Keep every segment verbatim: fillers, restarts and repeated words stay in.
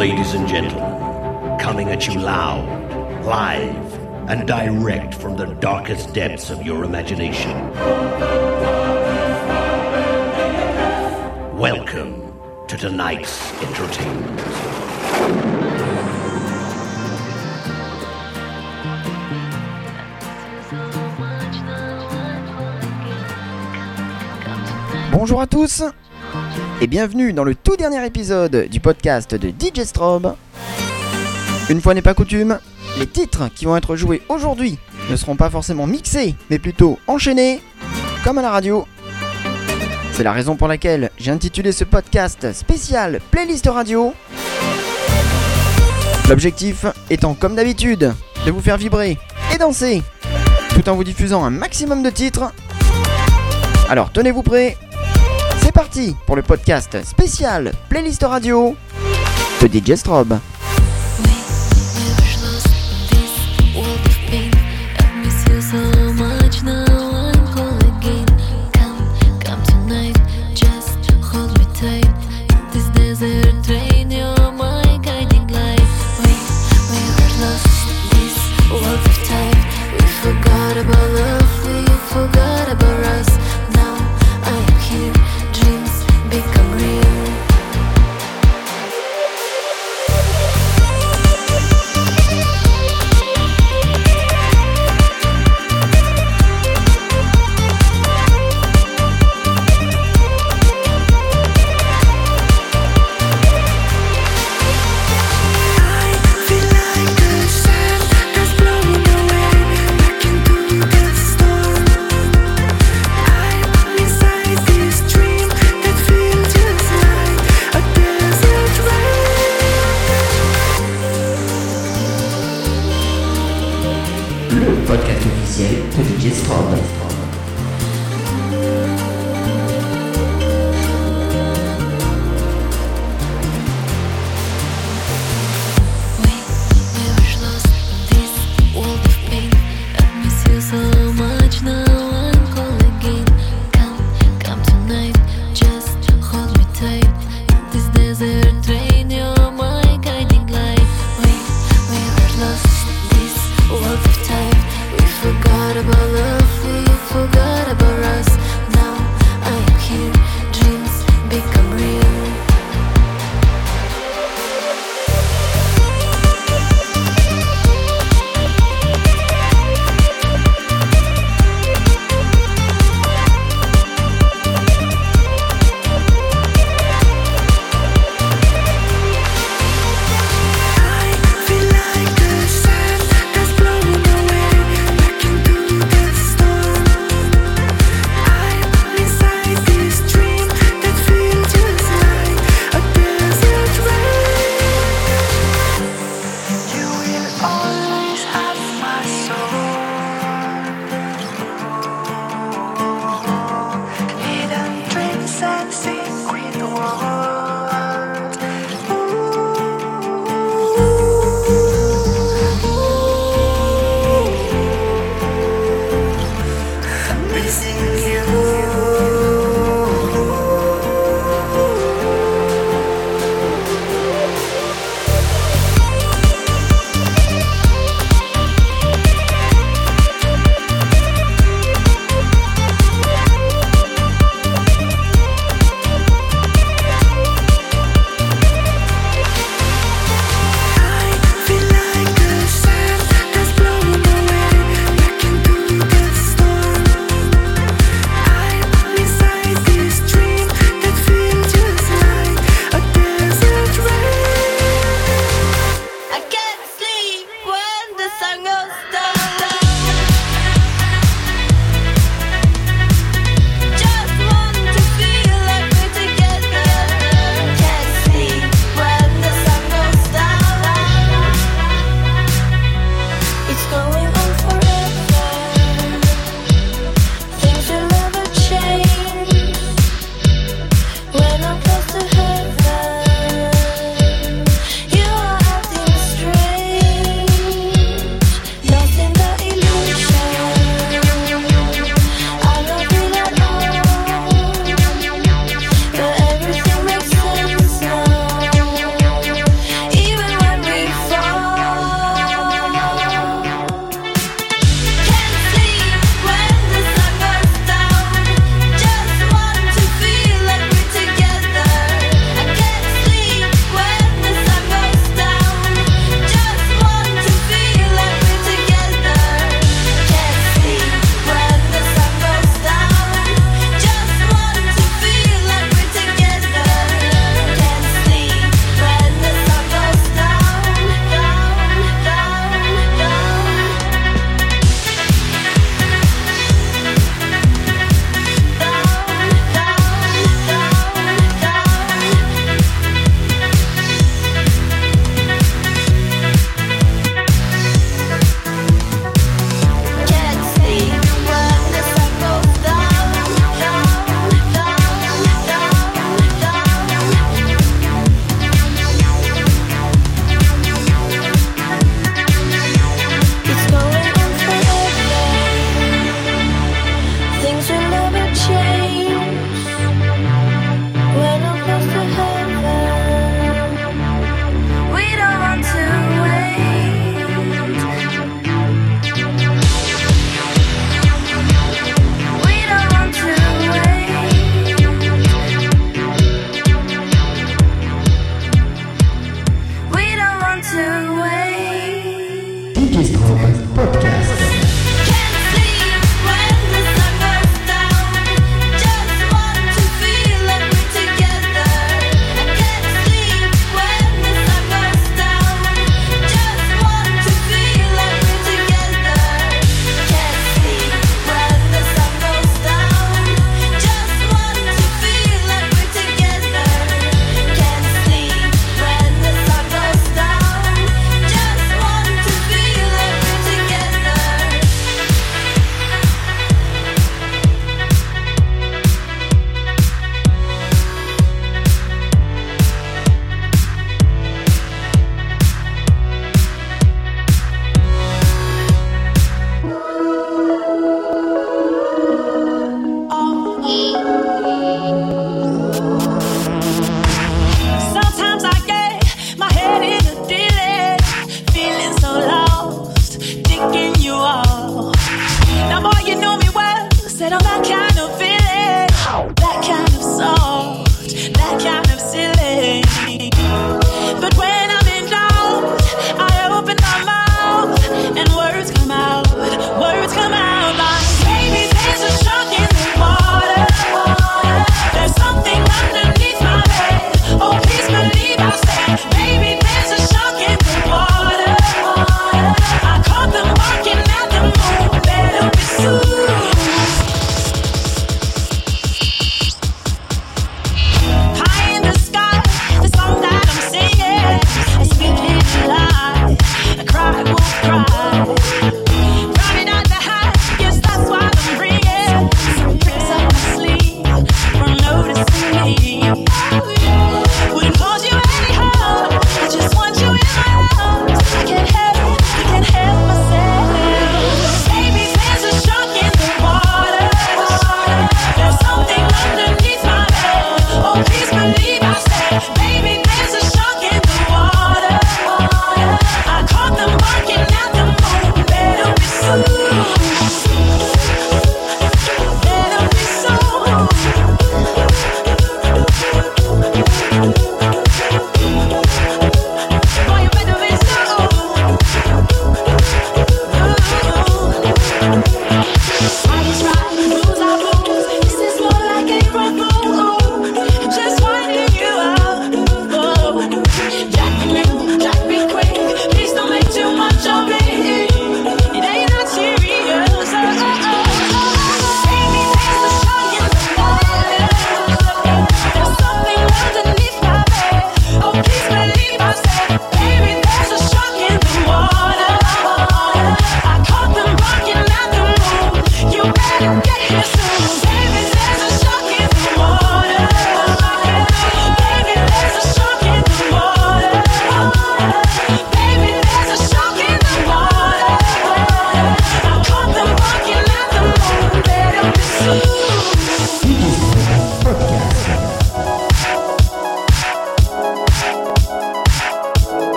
Ladies and gentlemen, coming at you loud, live, and direct from the darkest depths of your imagination. Welcome to tonight's entertainment. Bonjour à tous et bienvenue dans le tout dernier épisode du podcast de D J Strobe. Une fois n'est pas coutume, les titres qui vont être joués aujourd'hui ne seront pas forcément mixés, mais plutôt enchaînés, comme à la radio. C'est la raison pour laquelle j'ai intitulé ce podcast spécial Playlist Radio. L'objectif étant, comme d'habitude, de vous faire vibrer et danser, tout en vous diffusant un maximum de titres. Alors tenez-vous prêts. C'est parti pour le podcast spécial Playlist Radio de D J Strobe.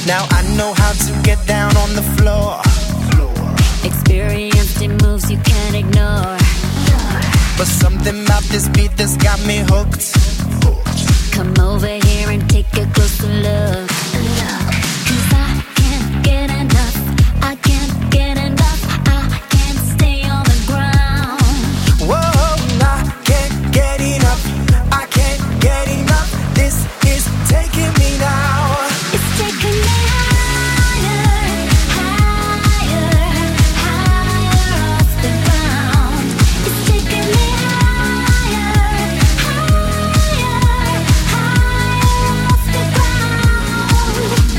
Now I know how to get down on the floor. Experienced in moves you can't ignore. But something about this beat that's got me hooked. Come over here and take a closer look. Cause I can't get enough. I can't get enough. I can't stay on the ground. Whoa, I can't get enough. I can't get enough. This is taking me now. It's taking me higher, higher, higher off the ground. It's taking me higher, higher, higher off the ground.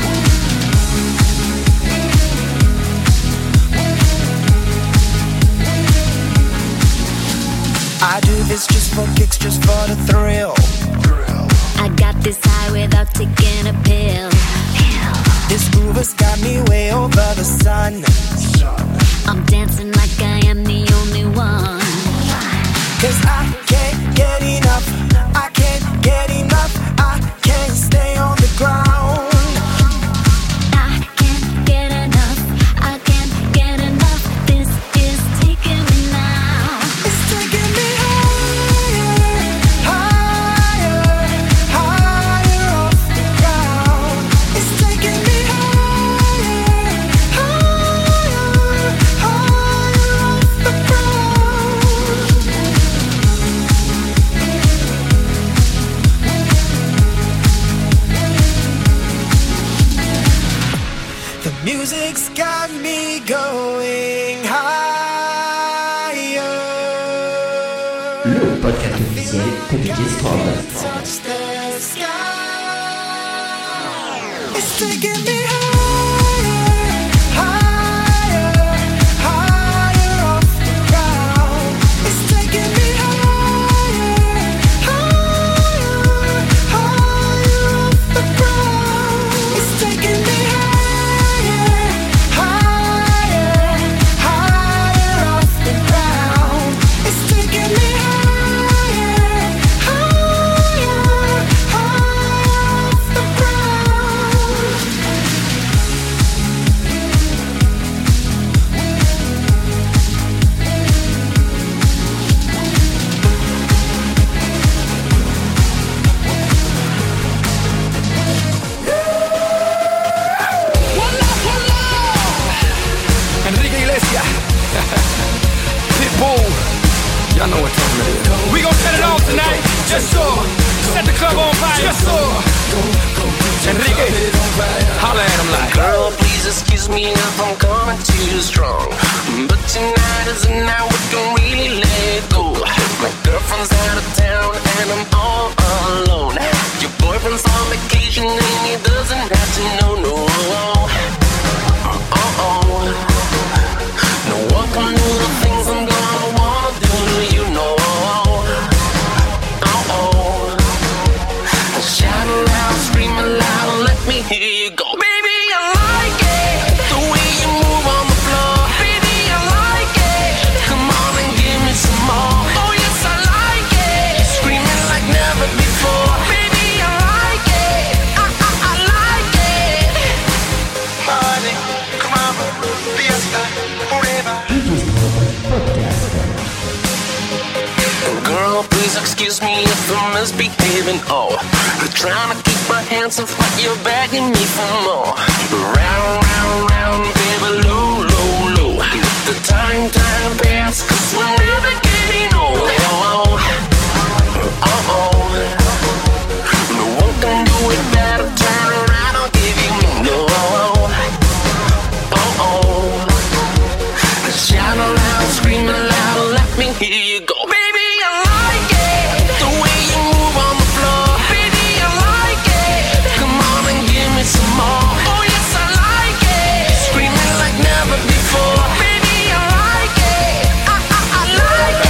I do this just for kicks, just for the thrill. I got this high without taking a pill. This groove has got me way over the sun. I'm dancing like I am the only one. Cause I can't get enough. I can't get enough. I can't stay on the ground. I can't get enough. I can't get enough. This is taking me now. It's taking me higher, higher, higher off the ground. It's taking me higher, higher, higher off the ground. The music's got me going higher. Le podcast officiel de D J Strobe. Touch the sky. It's taking me higher, higher, higher off the ground. It's taking me higher, higher, higher off the ground. It's taking me higher, higher, higher off the ground. It's taking me higher, higher, higher off the ground. Enrique Iglesias, Pitbull, y'all know what time it is. We gon' set it off tonight, just so. Set the club on fire, just so. Enrique, holla at him like. Girl, please excuse me if I'm coming too strong, but tonight is the night we can really let go. My girlfriend's out of town and I'm all alone. Your boyfriend's on vacation and he doesn't have to know, no. Uh-oh. No one can do the things I'm gonna wanna do to you, no. Uh-oh. Shout aloud, scream aloud, let me hear you go. Baby, I like it, the way you move on the floor. Baby, I like it, come on and give me some more. Oh yes, I like it, screaming like never before. Baby, I like it, I, I, I like it. Party, come on, fiesta, forever. Girl, please excuse me if I'm misbehaving. Oh, I'm trying to keep my hands off, but you're begging me for more. Round, round, round, baby, low, low, low. Let the time, time pass, cause we're never getting old. Oh, oh, oh. No one can do it better. Turn around, I'll give you me. No, oh, oh. Shout aloud, scream aloud, let me hear you go. Baby, I like it, the way you move on the floor. Baby, I like it, come on and give me some more. Oh yes, I like it, screaming like never before. Baby, I like it, I, I, I like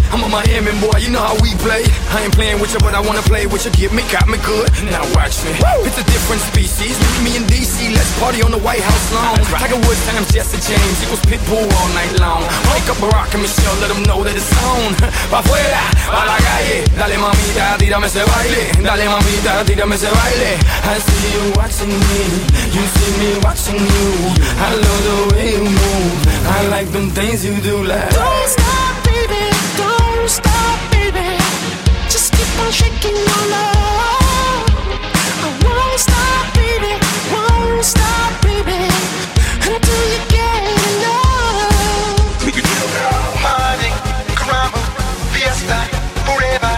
I'm a Miami boy, you know how we play. I ain't playing with you, but I wanna play with you. Get me, got me good. Now watch me. Woo! It's a different species. Meet me in D C, let's party on the White House lawn. Tiger Woods times Jesse James, equals Pitbull all night long. Wake up Barack and Michelle, let them know that it's on. Pa' afuera, pa' la calle. Dale mamita, tírame ese baile. Dale mamita, tírame ese baile. I see you watching me, you see me watching you. I love the way you move. I like them things you do like. Don't stop, baby, don't stop, baby. Just keep on shaking your love. I won't stop, baby, won't stop, baby, until you get enough. Money, caramba, fiesta, forever.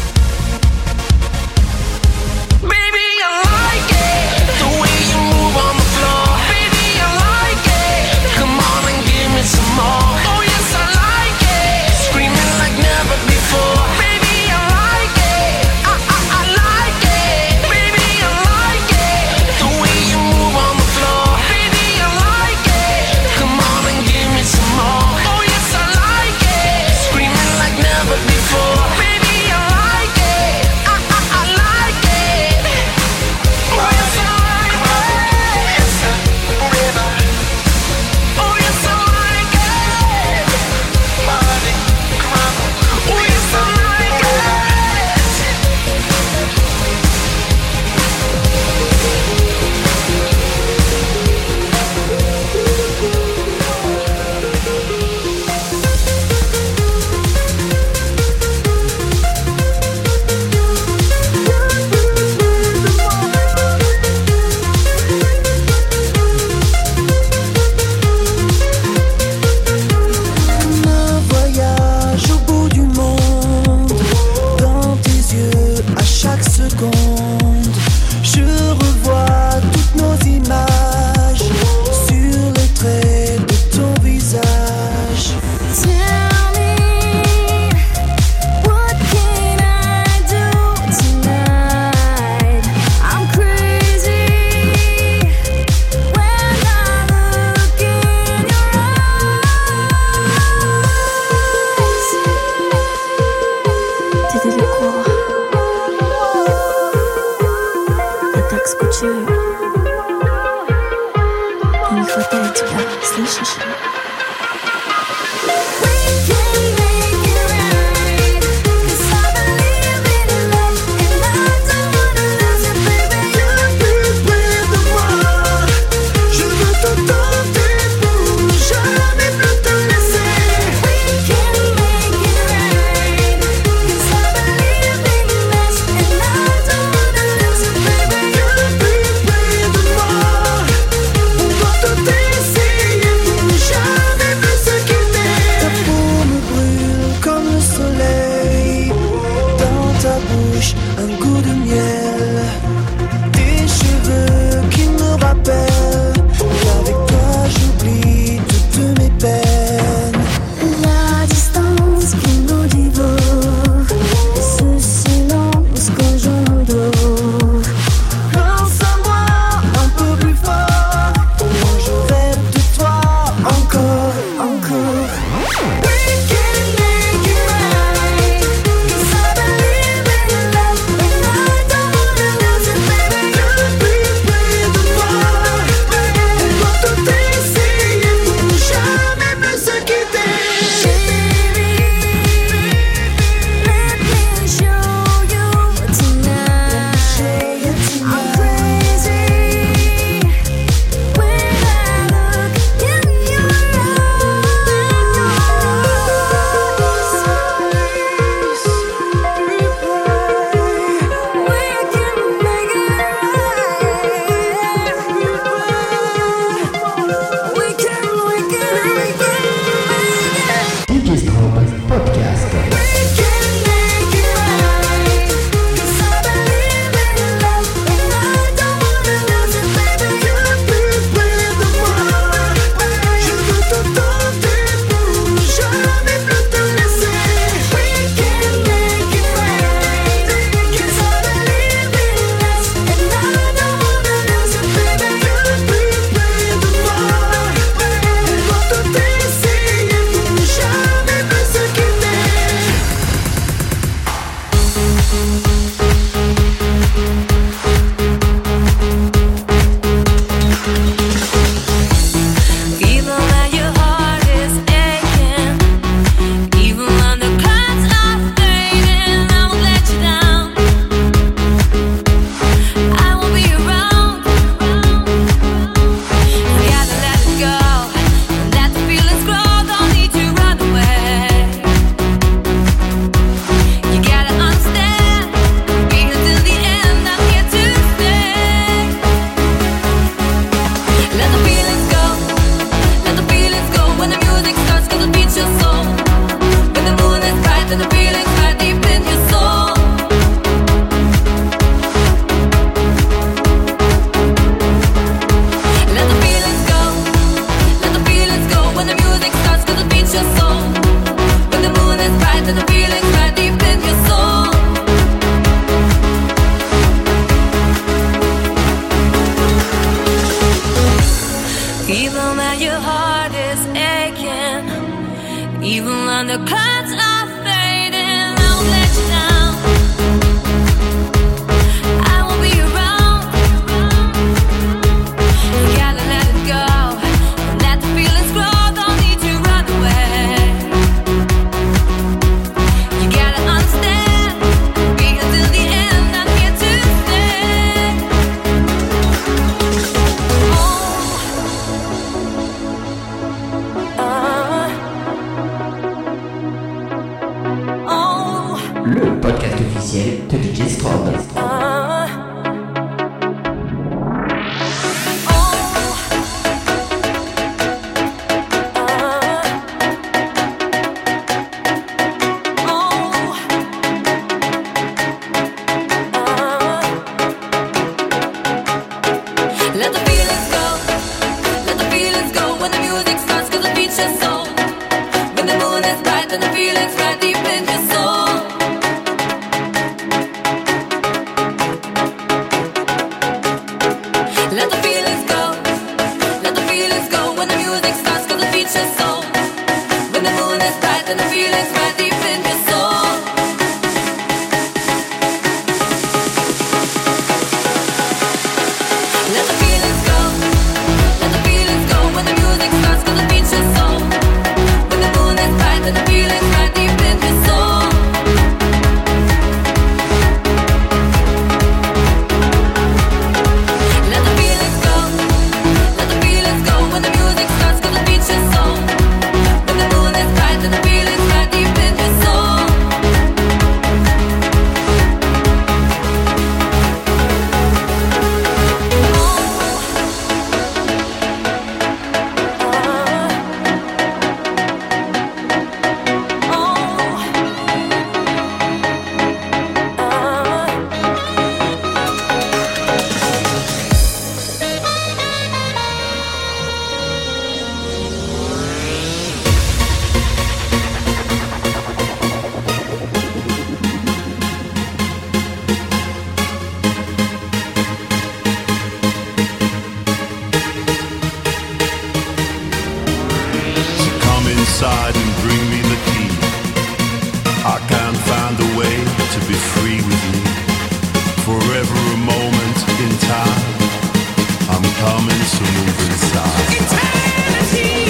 Baby, I like it, the way you move on the floor. Baby, I like it, come on and give me some more. Oh yes, I like it, screaming like never before. Baby, I like it, I, I, I like it. Baby, I like it, the way you move on the floor. Baby, I like it, come on and give me some more. Oh yes, I like it, screaming like never before. Baby, I like it, I, I, I like it. Oh yes, I like it. Fiesta, forever. Oh yes, I like it. Money, caramba, Oh yes, I like it. Un voyage au bout du monde, dans tes yeux à chaque seconde. Je revois toutes nos images sur les traits de ton visage. Tell me, what can I do tonight? I'm crazy when I look in your eyes. Ты далеко, я так скучаю. Мне не хватает тебя, слышишь? We can make it right, 'cause I believe in love, and I don't wanna lose it, baby. Viens plus près de moi, je veux te tenter pour ne jamais plus te laisser. We can make it right, 'cause I believe in us, and I don't wanna lose it, baby. Viens plus près de moi, on doit te essayer pour ne jamais plus se quitter. Ta peau me brûle comme le soleil, dans ta bouche un goût de miel. Tes cheveux qui me rappellent qu'avec toi j'oublie toutes mes peines. La distance qui nous dévore, et ce silence que j'endors. Pense à moi un peu plus fort, moi je rêve de toi encore, encore. We can make it right, 'cause I believe in love, le podcast officiel de D J Strobe. inside and bring me the key. I can't find a way to be free with you. Forever a moment in time. I'm coming to move inside. Eternity.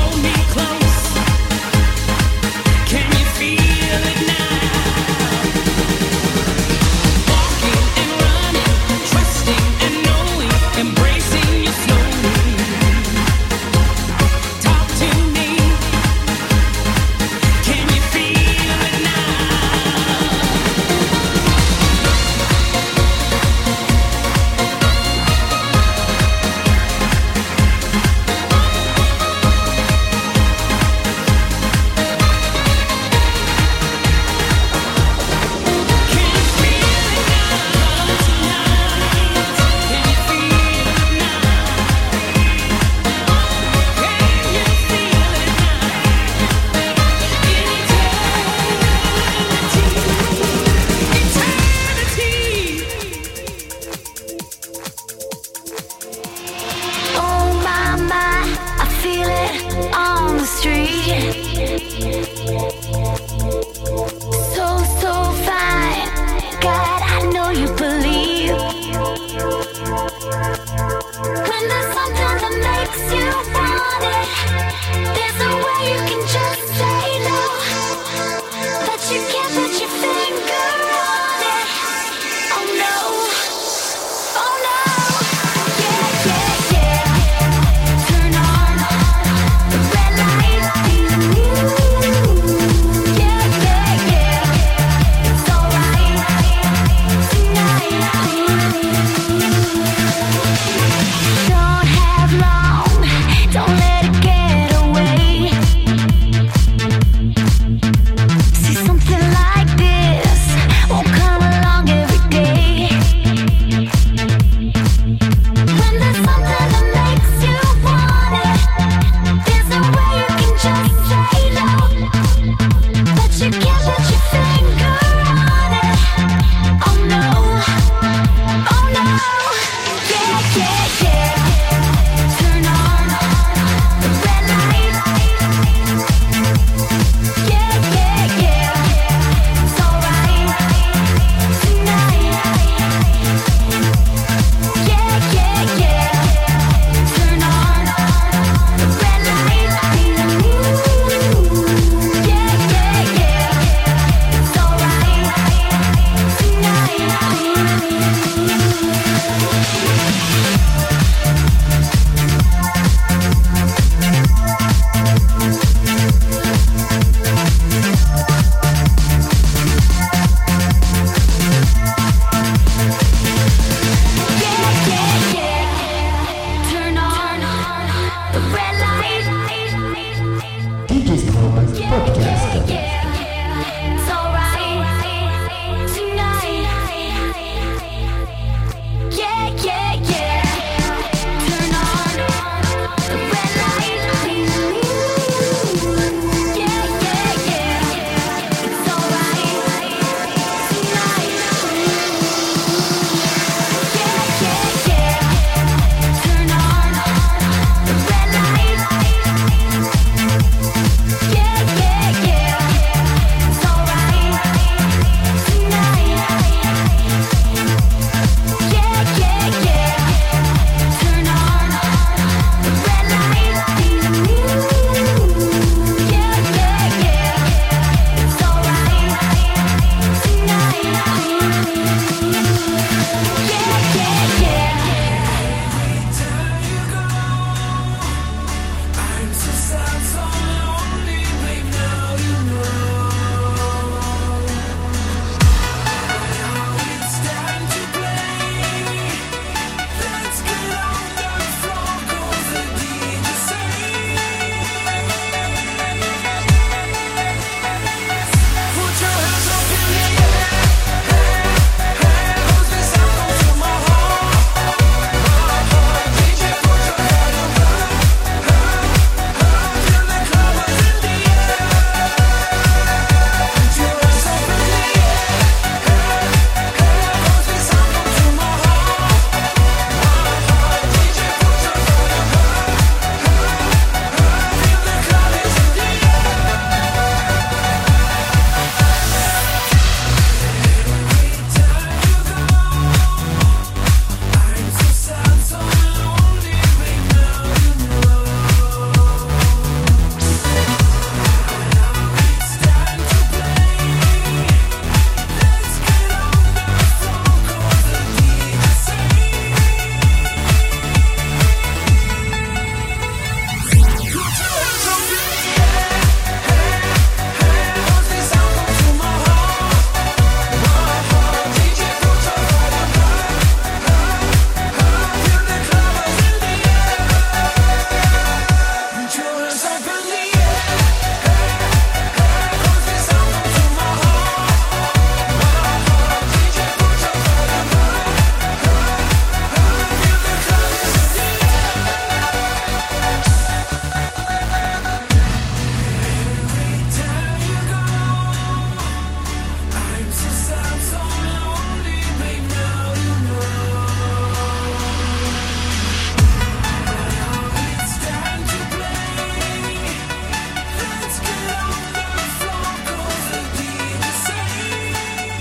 Can you feel it now?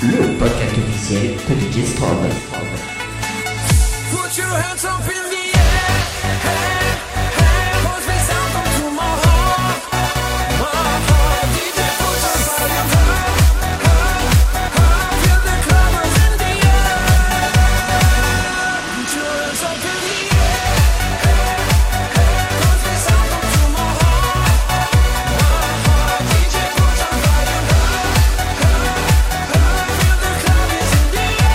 le podcast officiel de D J Strobe. Put your hands up in the air, hey, hey, cause we sound come to my heart, my heart. D J put your volume high, high, high, feel the clubbers in the air. Put your hands up in the air, hey, hey, cause we sound come to my heart, my heart. D J put your volume high, high, high, feel the clubbers in the air.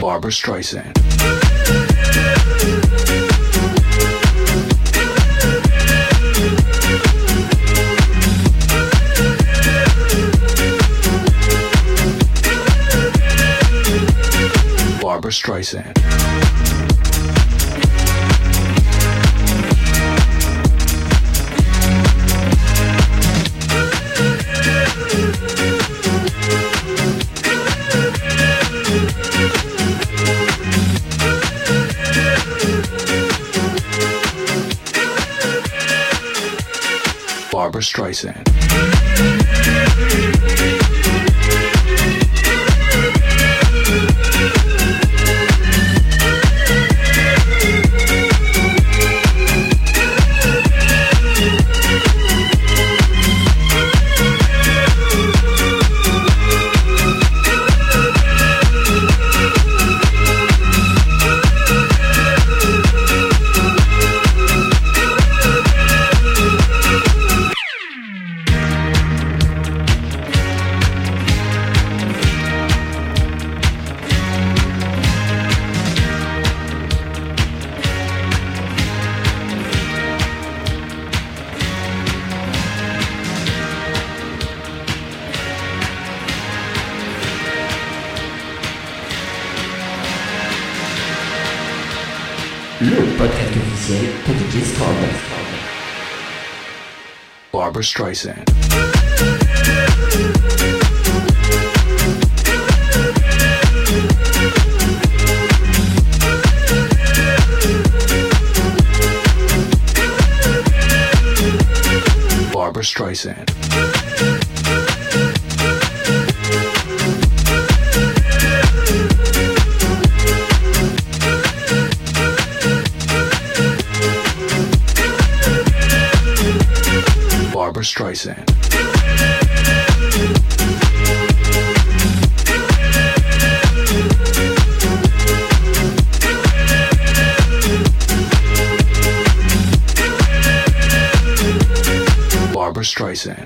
Barbra Streisand. Barbra Streisand. Barbra Streisand. Le podcast officiel de D J Strobe. Barbra Streisand. Barbra Streisand. Barbra Streisand. Barbra Streisand.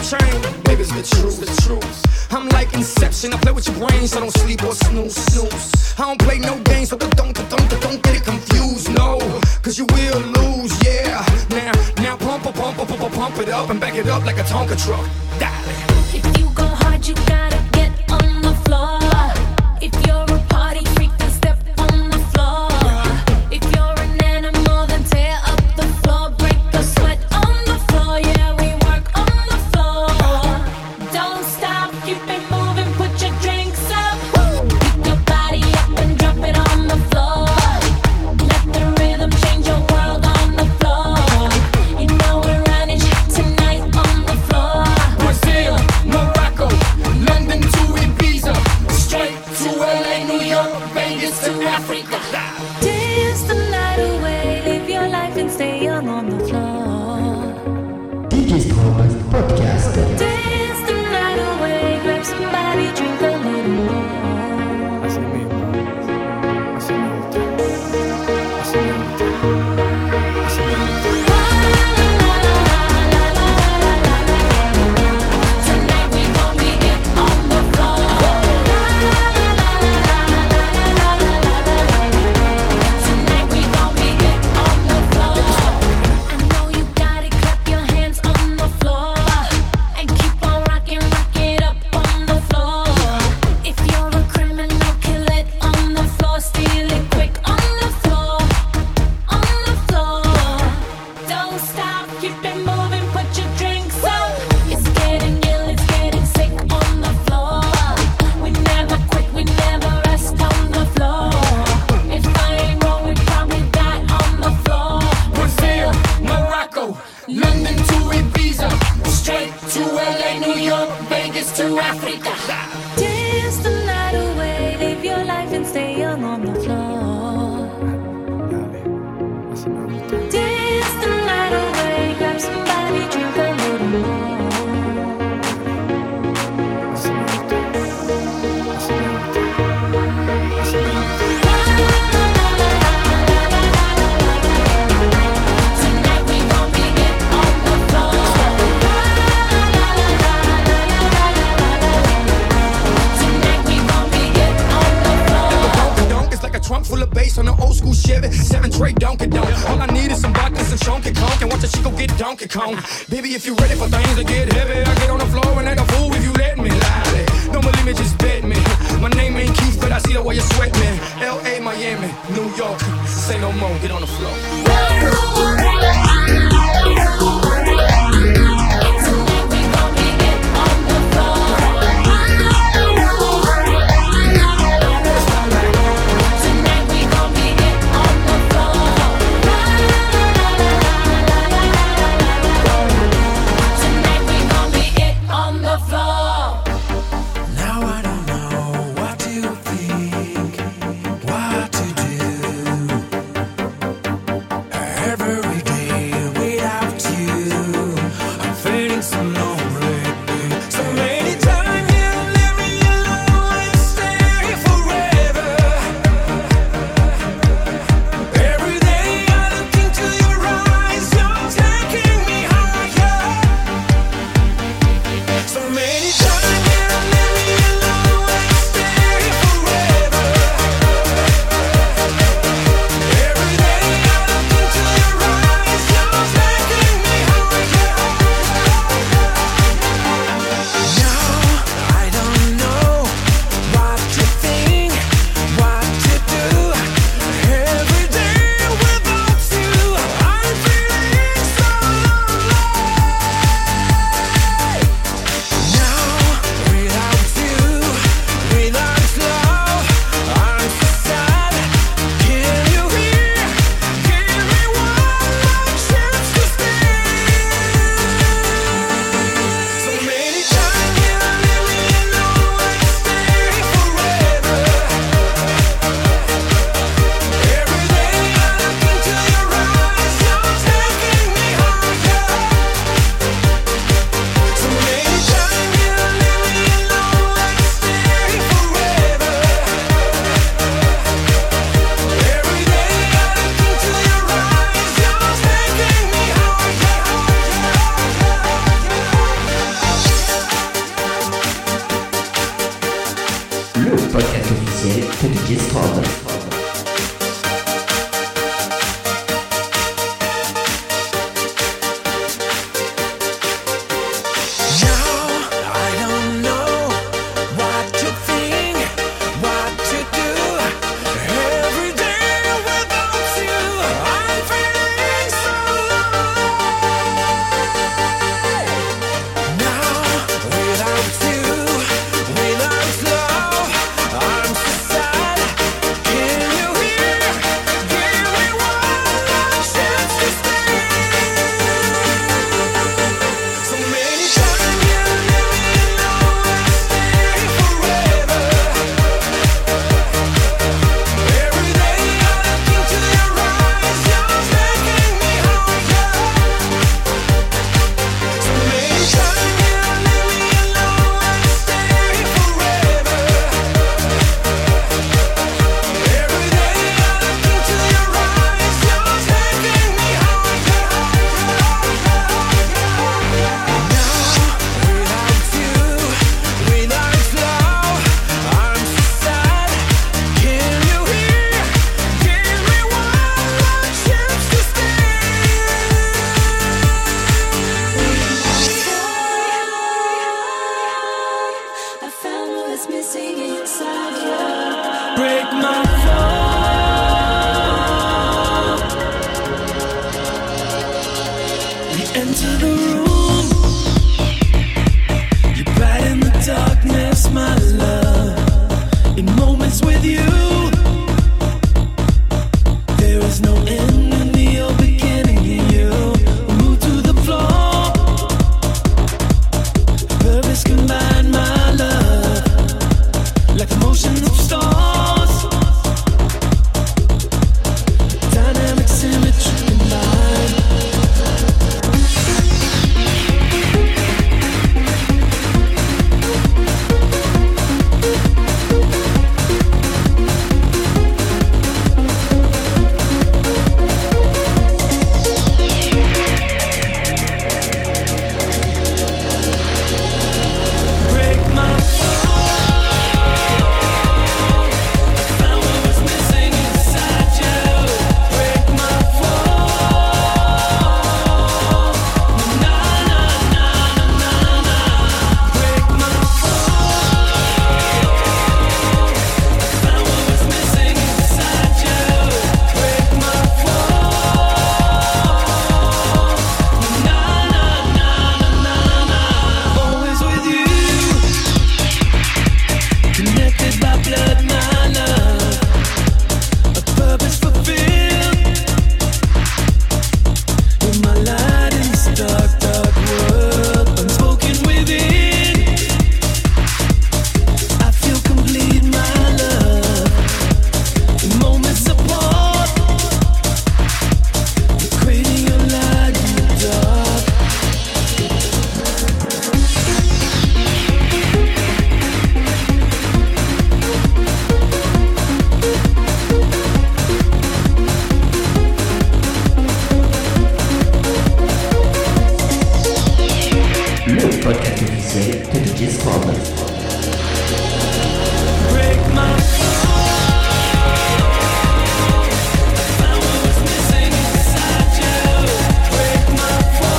chain. Baby, it's the truth, the truth. I'm like Inception, I play with your brain, so don't sleep or snooze, snooze. I don't play no games, so don't, don't, don't, don't get it confused, no. Cause you will lose, yeah. Now, now pump, pump, pump, pump, pump, pump it up and back it up like a Tonka truck. Dale. If you go hard, you gotta get on the floor. If you're a party freak, then step on the floor. If you're an animal, then tear up the floor. Break the sweat on the floor, yeah, we work on the floor. Don't stop, keep it moving, put your drinks up. Pick your body up and drop it on the floor. Let the rhythm change your world on the floor. You know we're running tonight on the floor. Brazil, Morocco, London to Ibiza, straight to L A, New York, Vegas to Africa. Dance the night away, live your life and stay young on the floor. D J Strobe Podcast. Dance the night away, grab somebody, drink a little more. Tonight we gon' be it on the floor. Tonight we gon' be it on the floor. I know you got it, clap your hands on the floor and keep on rocking, rock it up on the floor. If you're a criminal, kill it on the floor, steal it quick on the floor, on the floor. Don't stop, keep it moving, put your drinks up. It's getting ill, it's getting sick on the floor. We never quit, we never rest on the floor. If I ain't wrong, we probably die on the floor. Brazil, Morocco, London to Ibiza, straight to L A, New York, Vegas to Africa. Dance the night away, live your life and stay young on the floor. Dance the night away, grab somebody, drink a little more. Tonight we gon' be it on the floor. Tonight we gon' be it on the floor. Donkey donk is like a trunk full of bass on an old school Chevy. Seven tray Donkey Donk. All I need is some vodka, some Chunky Conk, and watch a chico get Donkey Kong. Baby, if you ready for things to get heavy, I get on the floor and act a fool if you let me. Lie. Don't believe me, just bet me. My name ain't Keith, but I see the way you sweat me. L A, Miami, New York. Say no more, get on the floor. Tonight we gon' be it on the floor. Tonight we gon' be it on the floor. Tonight we gon' be it on the floor. Now I don't know what to think, what to do. enter the room. You're bright in the darkness, my love. In moments with you, there is no end in me or beginning in you. Move to the floor. Purpose combine, my love, like the motion of stars. Dynamic symmetry combined. Break my found what was missing inside you. Break my fall. Na na na na na. Break my fall. Found what was missing inside you. Break my fall. Na na na na na. Always with you. Connected by blood, my love. A purpose fulfilled. You're my light in this dark, dark world. Unspoken within. I feel complete, my love. In moments apart. You're creating your light in the dark. Le podcast officiel de D J Strobe. Break my found what was missing inside you. Break my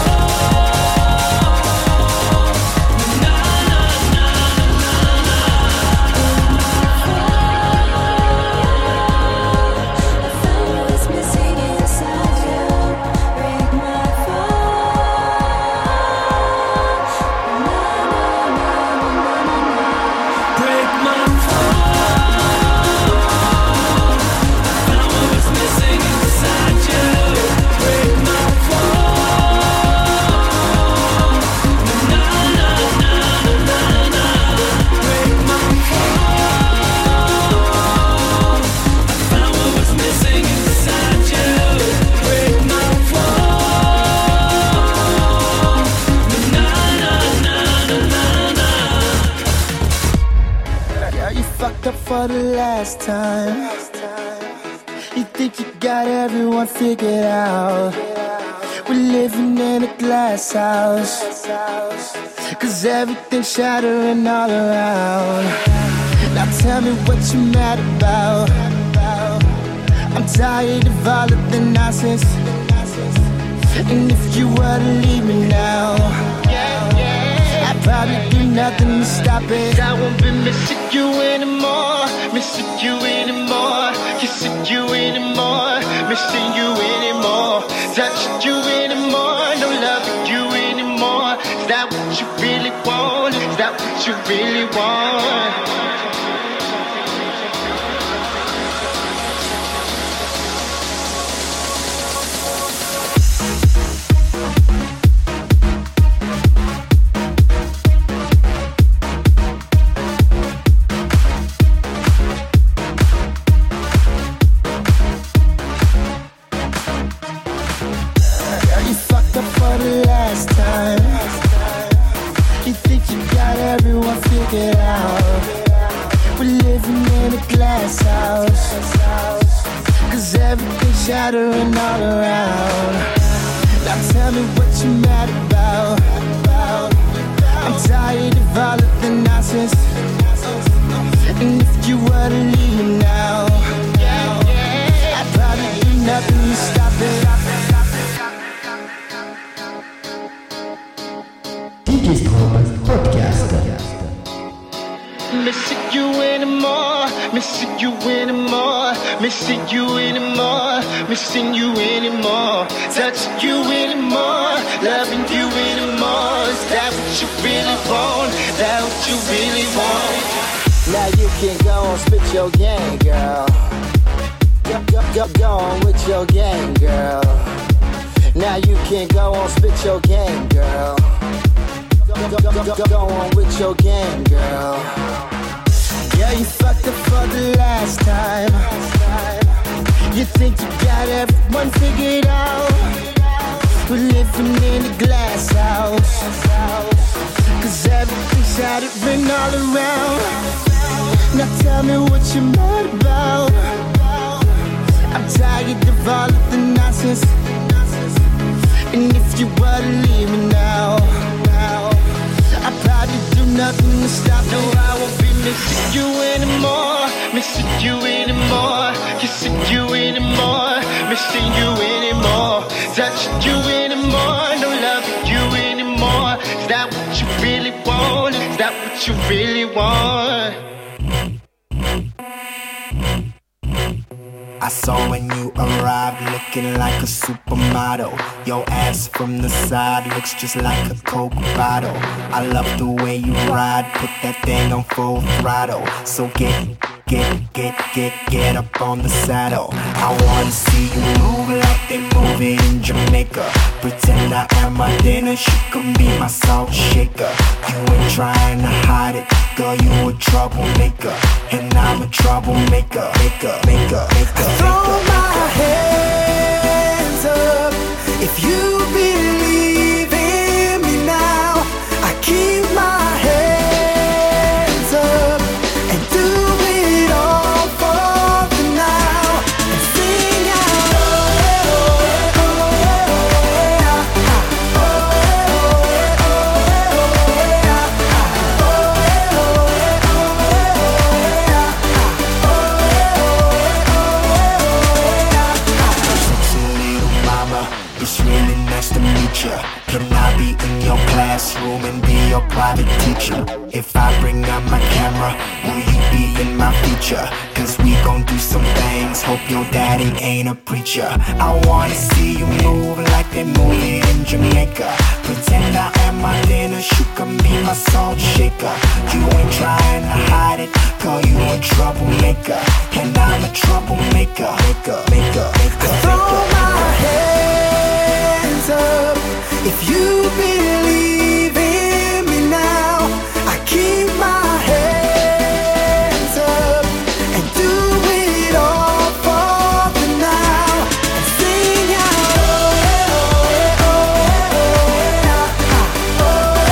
fall. Na na na na na. Found what was missing inside you. Break my Break my fall. Found what was missing inside you. Break my fall. Na na na na na. Break my fall. Found what was missing inside you. Break my fall. Na na na na na. Yeah, you fucked up for the last time. You think you got everyone figured out. We're living in a glass house. Cause everything's shattering all around. Now tell me what you mad about. I'm tired of all of the nonsense. And if you were to leave me now, I'd probably do nothing to stop it. I won't be missing you anymore, missing you anymore, kissing you anymore, missing you anymore, touching you anymore, no loving you anymore. Is that what you really want? Is that what you really want? You fucked up for the last time. You think you got everyone figured out. We're living in a glass house. Cause everything's shattering all around. Now tell me what you mad about. I'm tired of all of the nonsense. And if you were to leave me now, I'd probably do nothing to stop it. D J Strobe Podcast. Missing you anymore, missing you anymore, missing you anymore, missing you anymore, touching you anymore, loving you anymore. Is that what you really want? Is that what you really want? Now you can go and spit your game, girl. Go, go, go, go on with your game, girl. Now you can go on spit your game, girl. Go, go, go, go, go on with your game, girl. Yeah, you fucked up for the last time. You think you got everyone figured out. We're living in a glass house. Cause everything's had it written all around. Now tell me what you're mad about. I'm tired of all of the nonsense. And if you were to leave me now, now I'd probably do nothing to stop. No, I won't be missing you anymore. Missing you anymore. Kissing you anymore. Missing you anymore. Touching you anymore. No loving you anymore. Is that what you really want? Is that what you really want? I saw when you arrived looking like a supermodel. Your ass from the side looks just like a Coke bottle. I love the way you ride, put that thing on full throttle. So get, get, get, get, get up on the saddle. I wanna see you move like they move it in Jamaica. Pretend I am my dinner, she can be my salt shaker. You ain't trying to hide it, girl, you a troublemaker. And I'm a troublemaker, maker, maker, maker. Throw my hands up if you believe in me now. I keep my hands up and do it all for the now. And sing out, oh, oh, oh, oh, oh, oh, it's really nice to meet ya. Can I be in your classroom and be your private teacher? If I bring out my camera, will you be in my feature? Cause we gon' do some things, hope your daddy ain't a preacher. I wanna see you move like they move it in Jamaica. Pretend I am my dinner, you can be my salt shaker. You ain't trying to hide it, girl, you a troublemaker. And I'm a troublemaker, maker, maker, maker, throw my hands up if you believe in me now. I keep my hands up and do it all for the now. And sing out, oh, oh, oh, oh,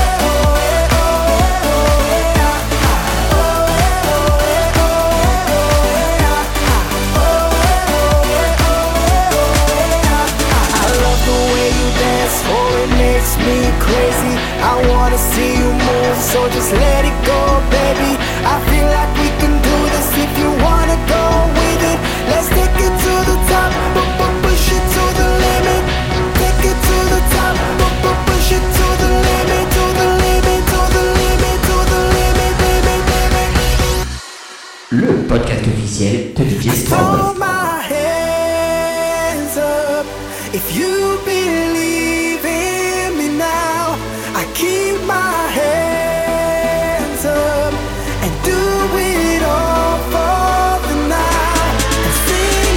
I love the way you dance, oh, it makes me crazy. I wanna see you move, so just let it go, baby. I feel like we can do this if you wanna go with it. Let's take it to the top, but but push it to the limit. Take it to the top, but but push it to the limit, to the limit, to the limit, to the limit, baby, baby. Le podcast officiel de D J Strobe. Throw my hands up if you believe in me now. I keep my hands up and do it all for the now. And sing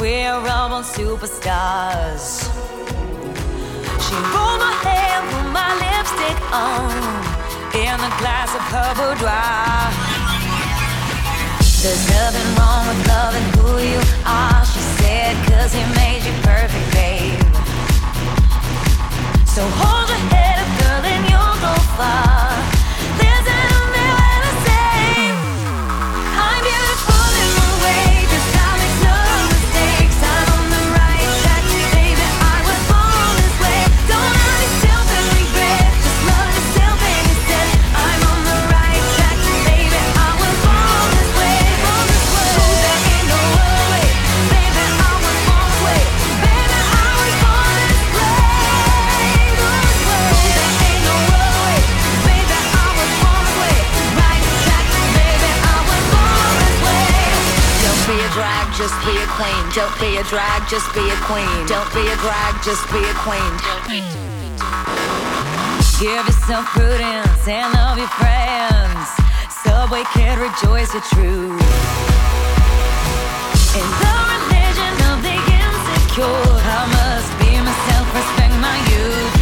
we're all born superstars. She rolled my hair, put my lipstick on, in a glass of her boudoir. There's nothing wrong with loving who you are, she said, cause he made you perfect, babe. So hold your head up, girl, and you'll go far. Listen to me when I say I'm beautiful in my way, cause I make no mistakes. I'm on the right track, baby, I was born this way. Don't hurt yourself and regret, just love yourself and instead. I'm on the right track, baby, I was born this way, born this way. Oh, there ain't no other way, baby, I was born this way. Baby, I was born this way, born this way. Oh, there ain't no other way, baby, I was born this way. Right track, baby, I was born this way. Don't be a drag, just be a queen. Don't be a drag, just be a queen. Don't be a drag, just be a queen. Give yourself prudence and love your friends. Subway kid, rejoice your truth. In the religion of the insecure, I must be myself, respect my youth.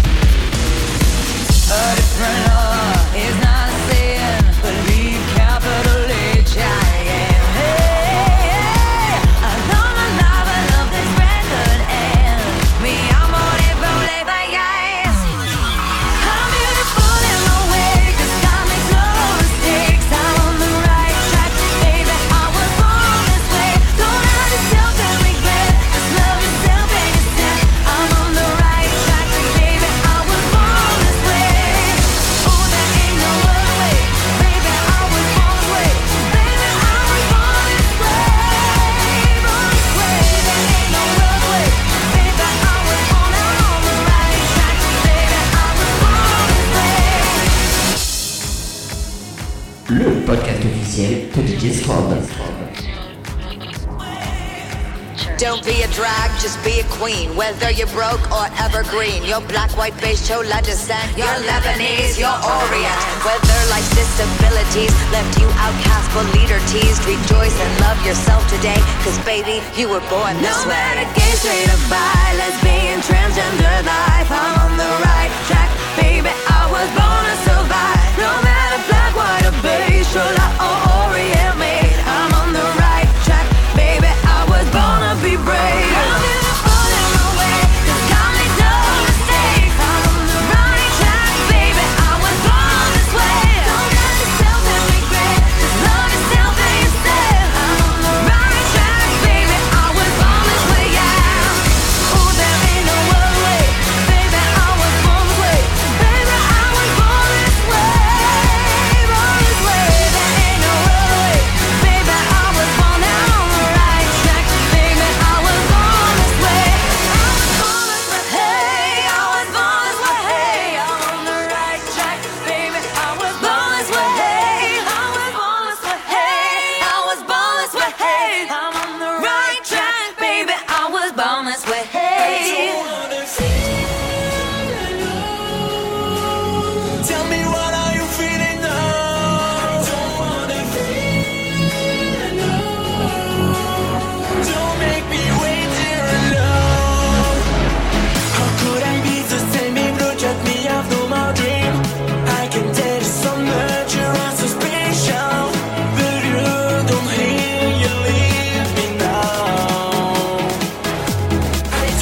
A different law is not a sin. Believe capital H I M. Hey, hey, I love my life, I love this record and me, I'm on it, roll it by eyes. I'm beautiful in my way, cause I make no mistakes. I'm on the right track, baby, I was born this way. Don't hurt yourself and regret, just love yourself and instead. I'm on the right track, baby, I was born this way. Oh, there ain't no other way, baby, I was born this way. Baby, I was born this way, born this way. There ain't no other way, baby, I was born, I'm on the right track, baby, I was born this way. Le podcast officiel de D J Strobe. Don't be a drag, just be a queen. Whether you're broke or evergreen, you're black, white, beige, chola descent, you're Lebanese, you're Orient. Whether life's disabilities left you outcast but leader teased, rejoice and love yourself today, cause baby, you were born this way. No matter gay, straight or bi, lesbian, transgender life, I'm on the right track, baby, I was born to survive. No matter black, white or beige, chola or Orient made, I'm on the right track, baby, I was born to be brave. I'm beautiful in my way, cause I make no mistakes. I'm on the right track, baby, I was born this way. Don't hurt yourself and regret, just love yourself and instead. I'm on the right track, baby, I was born this way, yeah. Oh, there ain't no other way, baby, I was born this way. Baby, I was born this way, born this way. There ain't no other way, baby, I was born now on the right track, baby, I was born this way. I was born this way, hey, I was born this way, hey, I'm on the right track, baby, I was born this way, hey, I was born this way, hey, I was born this way, hey, I'm on the right track, baby, I was born this way, hey. Tell me what are you feeling now? I don't wanna feel no. Don't make me wait here alone. How could I be the same if look at me, I've no more dream. I can tell you so much, you are so special, but you don't hear, you leave me now. I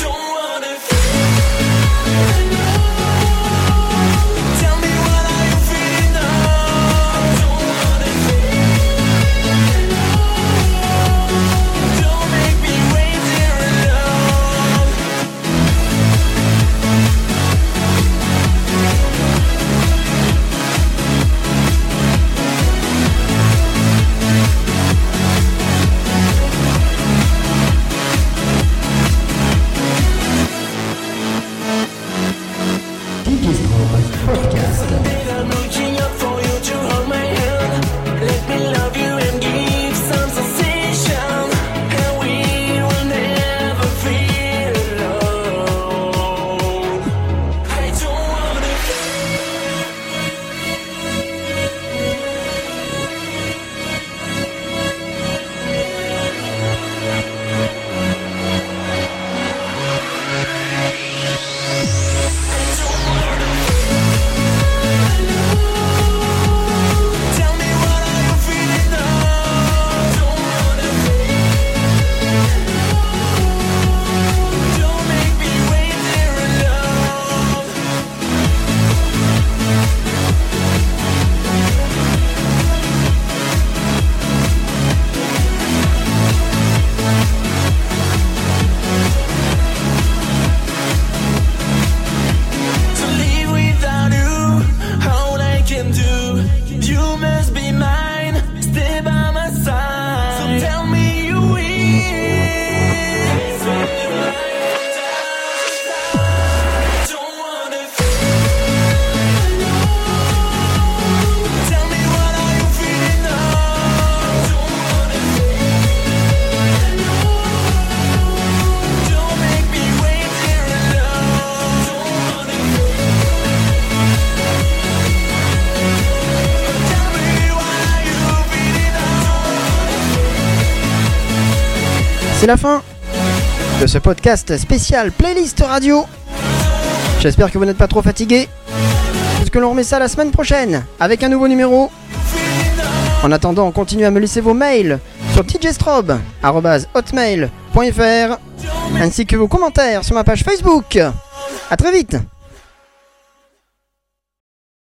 C'est la fin de ce podcast spécial playlist radio. J'espère que vous n'êtes pas trop fatigués, parce que l'on remet ça la semaine prochaine avec un nouveau numéro. En attendant, continuez à me laisser vos mails sur d j strobe arobase hotmail point f r ainsi que vos commentaires sur ma page Facebook. A très vite.